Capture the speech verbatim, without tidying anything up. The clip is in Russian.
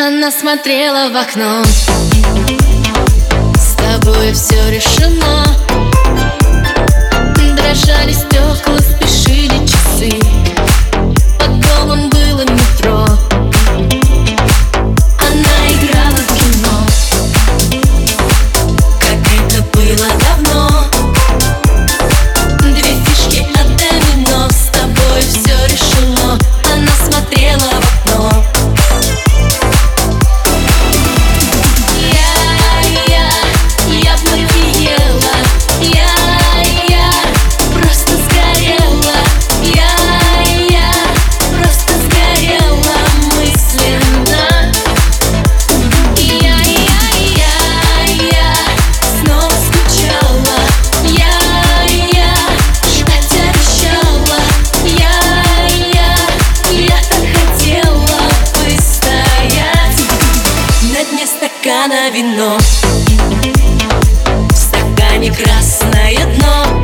Она смотрела в окно. С тобой все решено. Дрожали стекла, спешили часы. Под домом было метро. Она играла в кино, как это было давно. Две фишки от домино. С тобой все решено. Она смотрела в окно. Стакана вино, в стакане красное дно.